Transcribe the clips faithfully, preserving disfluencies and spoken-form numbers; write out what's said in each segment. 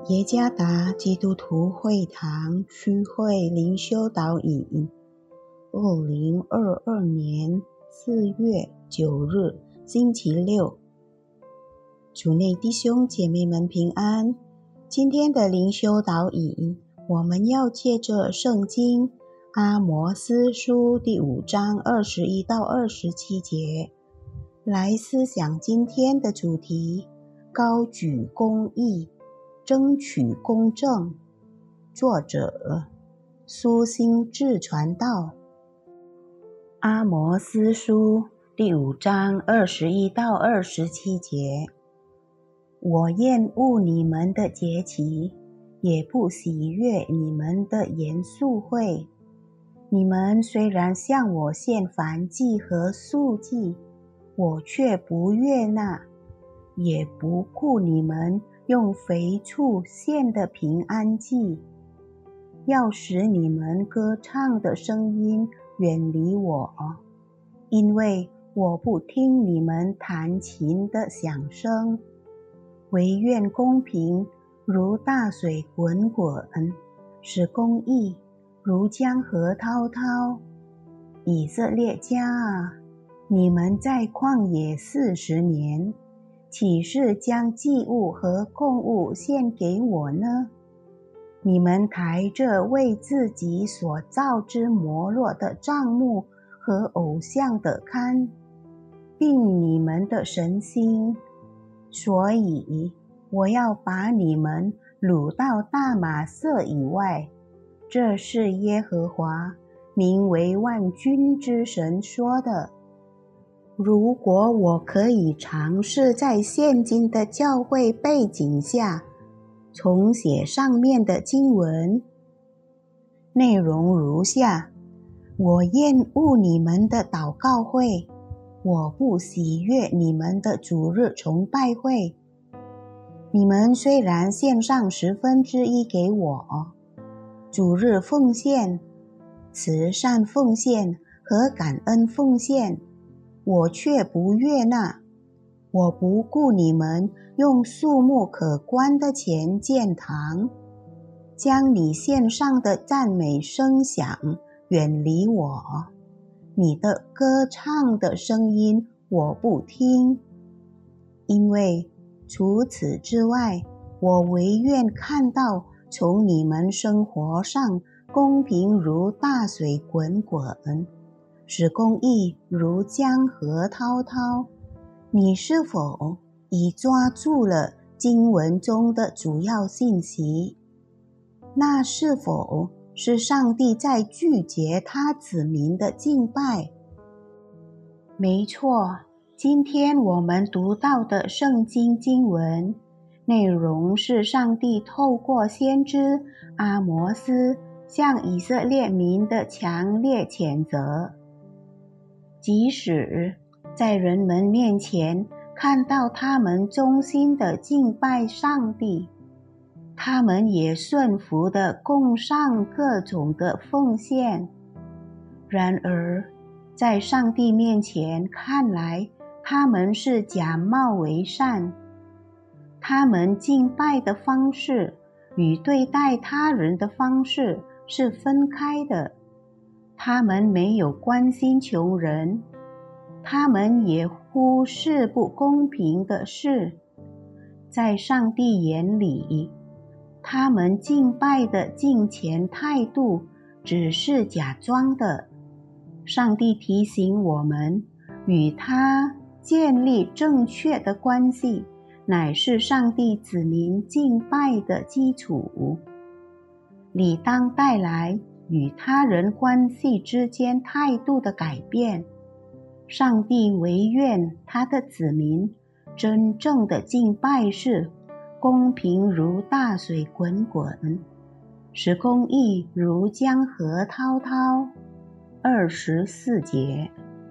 耶加达基督徒会堂区会灵修导引，二零二二年四月九日星期六。主内弟兄姐妹们平安。今天的灵修导引，我们要借着圣经阿摩司书第五章二十一到二十七节来思想今天的主题：高举公义，争取公正。作者苏心志传道。阿摩司书第五章二十一到二十七节：我厌恶你们的节期，也不喜悦你们的严肃会。你们虽然向我献燔祭和素祭，我却不悦纳，也不顾你们用肥畜献的平安祭，要使你们歌唱的声音远离我，因为我不听你们弹琴的响声。惟愿公平如大水滚滚，使公义如江河滔滔。以色列家啊，你们在旷野四十年，岂是将祭物和供物献给我呢？你们抬着为自己所造之摩洛的帐幕和偶像的龛，并你们的神星，所以我要把你们掳到大马色以外。这是耶和华名为万军之神说的。如果我可以尝试在现今的教会背景下重写上面的经文，内容如下：我厌恶你们的祷告会，我不喜悦你们的主日崇拜会。你们虽然献上十分之一给我，主日奉献、慈善奉献和感恩奉献，我却不悦纳。我不顾你们用数目可观的钱建堂，将你献上的赞美声响远离我。你的歌唱的声音我不听，因为除此之外，我惟愿看到从你们生活上公平如大水滚滚，使公义如江河滔滔。你是否已抓住了经文中的主要信息？那是否是上帝在拒绝他子民的敬拜？没错，今天我们读到的圣经经文内容是上帝透过先知阿摩司向以色列民的强烈谴责。即使在人们面前看到他们忠心的敬拜上帝，他们也顺服地供上各种的奉献。然而，在上帝面前看来，他们是假冒为善。他们敬拜的方式与对待他人的方式是分开的。他们没有关心穷人，他们也忽视不公平的事。在上帝眼里，他们敬拜的敬虔态度只是假装的。上帝提醒我们，与他建立正确的关系，乃是上帝子民敬拜的基础，理当带来与他人关系之间态度的改变。上帝惟愿他的子民真正的敬拜是公平如大水滚滚，使公义如江河滔滔。二十四节，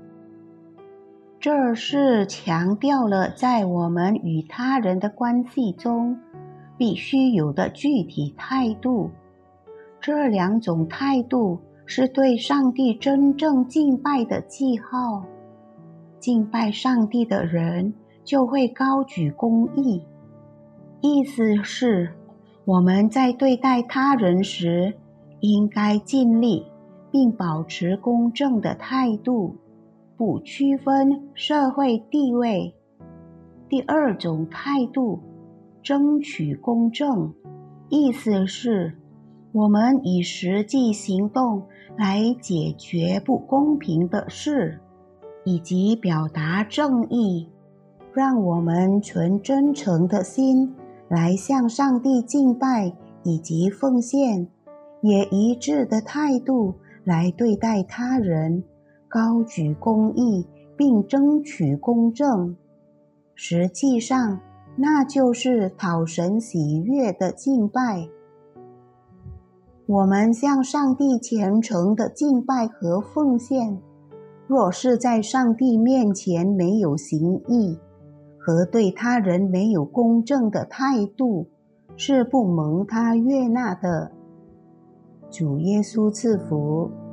这是强调了在我们与他人的关系中必须有的具体态度。这两种态度是对上帝真正敬拜的记号。敬拜上帝的人就会高举公义，意思是我们在对待他人时，应该尽力并保持公正的态度，不区分社会地位。第二种态度，争取公正，意思是我们以实际行动来解决不公平的事，以及表达正义，让我们存真诚的心来向上帝敬拜以及奉献，也一致的态度来对待他人，高举公义并争取公正。实际上，那就是讨神喜悦的敬拜。我们向上帝虔诚的敬拜和奉献，若是在上帝面前没有行义，和对他人没有公正的态度，是不蒙他悦纳的。主耶稣赐福。